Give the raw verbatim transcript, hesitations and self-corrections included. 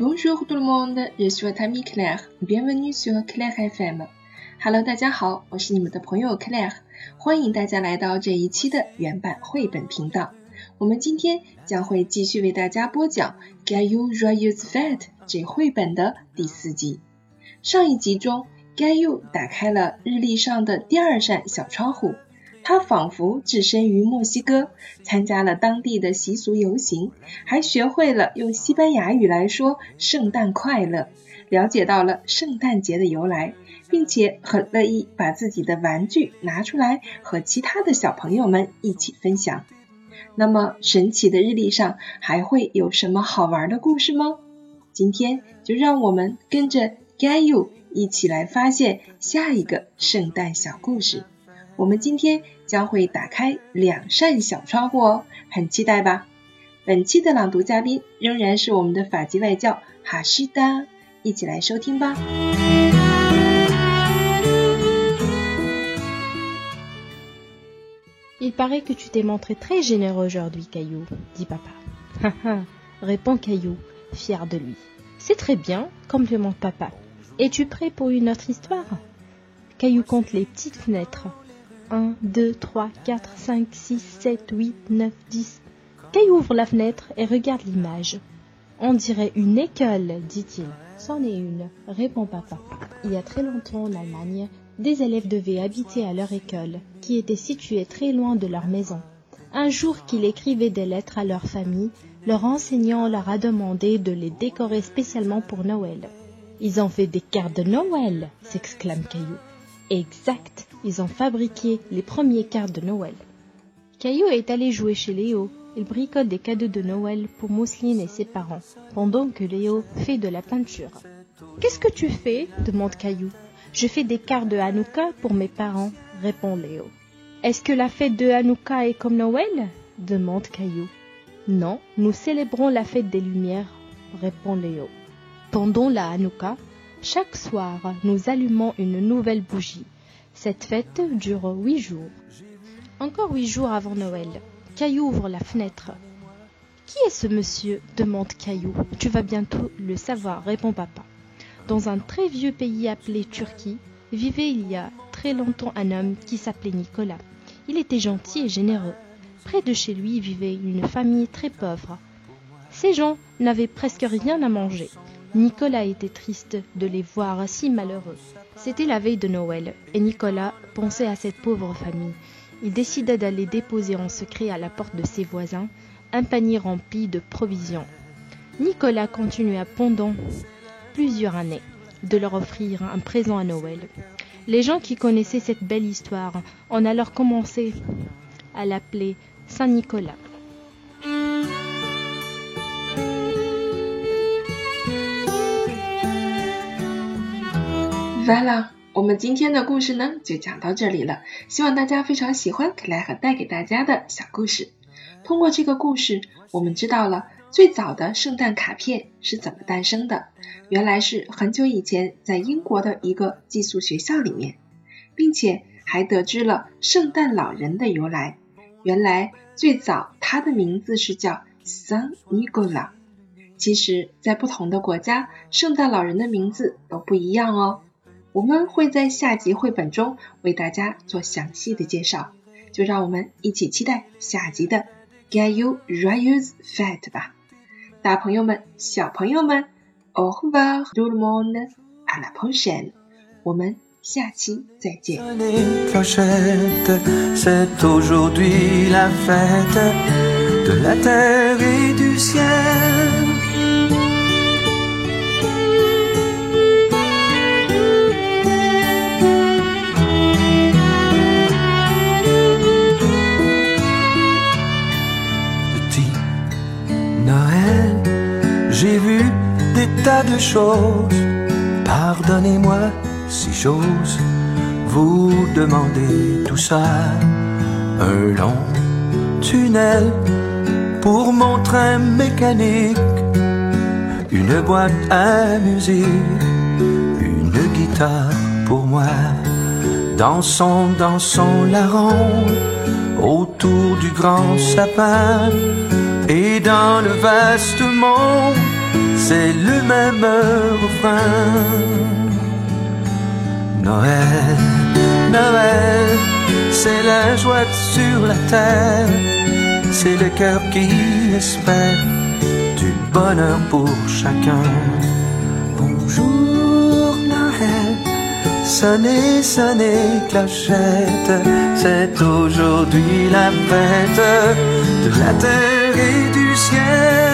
Bonjour tout le monde, je suis votre amie Claire. Bienvenue sur Claire F M。Hello， 大家好，我是你们的朋友 Claire， 欢迎大家来到这一期的原版绘本频道。我们今天将会继续为大家播讲《Caillou Joyeuse Fête》这绘本的第四集。上一集中 Caillou 打开了日历上的第二扇小窗户，他仿佛置身于墨西哥，参加了当地的习俗游行，还学会了用西班牙语来说圣诞快乐，了解到了圣诞节的由来，并且很乐意把自己的玩具拿出来和其他的小朋友们一起分享。那么神奇的日历上还会有什么好玩的故事吗？今天就让我们跟着 Caillou 一起来发现下一个圣诞小故事。我们今天将会打开两扇小窗户哦，很期待吧？本期的朗读嘉宾仍然是我们的法籍外教哈西达，一起来收听吧。 Il paraît que tu t'es montré très généreux aujourd'hui, Caillou, dit papa. Ha ha, répond Caillou, fier de lui. C'est très bien, complimente papa. Es-tu prêt pour une autre histoire? Caillou compte les petites fenêtres. un, deux, trois, quatre, cinq, six, sept, huit, neuf, dix. Caillou ouvre la fenêtre et regarde l'image. On dirait une école, dit-il. C'en est une, répond papa. Il y a très longtemps en Allemagne, des élèves devaient habiter à leur école, qui était située très loin de leur maison. Un jour qu'ils écrivaient des lettres à leur famille, leur enseignant leur a demandé de les décorer spécialement pour Noël. « Ils ont fait des cartes de Noël !» s'exclame Caillou. Exact, ils ont fabriqué les premières cartes de Noël. Caillou est allé jouer chez Léo. Il bricote des cadeaux de Noël pour Mousseline et ses parents, pendant que Léo fait de la peinture. « Qu'est-ce que tu fais ?» demande Caillou. « Je fais des cartes de Hanouka pour mes parents, » répond Léo. « Est-ce que la fête de Hanouka est comme Noël ?» demande Caillou. « Non, nous célébrons la fête des Lumières, » répond Léo. Pendant la Hanouka, chaque soir, nous allumons une nouvelle bougie. Cette fête dure huit jours. Encore huit jours avant Noël, Caillou ouvre la fenêtre. « Qui est ce monsieur ?» demande Caillou. « Tu vas bientôt le savoir, » répond papa. Dans un très vieux pays appelé Turquie, vivait il y a très longtemps un homme qui s'appelait Nicolas. Il était gentil et généreux. Près de chez lui vivait une famille très pauvre. Ces gens n'avaient presque rien à manger. Nicolas était triste de les voir si malheureux. C'était la veille de Noël, et Nicolas pensait à cette pauvre famille. Il décida d'aller déposer en secret à la porte de ses voisins un panier rempli de provisions. Nicolas continua pendant plusieurs années de leur offrir un présent à Noël. Les gens qui connaissaient cette belle histoire ont alors commencé à l'appeler Saint Nicolas. Voilà， 我们今天的故事呢就讲到这里了，希望大家非常喜欢克莱和带给大家的小故事。通过这个故事，我们知道了最早的圣诞卡片是怎么诞生的，原来是很久以前在英国的一个寄宿学校里面，并且还得知了圣诞老人的由来，原来最早他的名字是叫 Saint Nicolas。 其实在不同的国家，圣诞老人的名字都不一样哦，我们会在下集绘本中为大家做详细的介绍，就让我们一起期待下集的 Caillou Joyeuse Fête 吧。大朋友们小朋友们 Au revoir tout le monde, à la prochaine， 我们下期再见。 C'est aujourd'hui la fête de la terre et du ciel. J'ai vu des tas de choses, pardonnez-moi si j'ose vous demander tout ça. Un long tunnel pour mon train mécanique, une boîte à musique, une guitare pour moi. Dansons, dansons la ronde autour du grand sapin. Et dans le vaste monde c'est le même refrain. Noël, Noël, c'est la joie sur la terre, c'est le cœur qui espère du bonheur pour chacun. Bonjour Noël, sonnez, sonnez clochette, c'est aujourd'hui la fête de la terre et du ciel.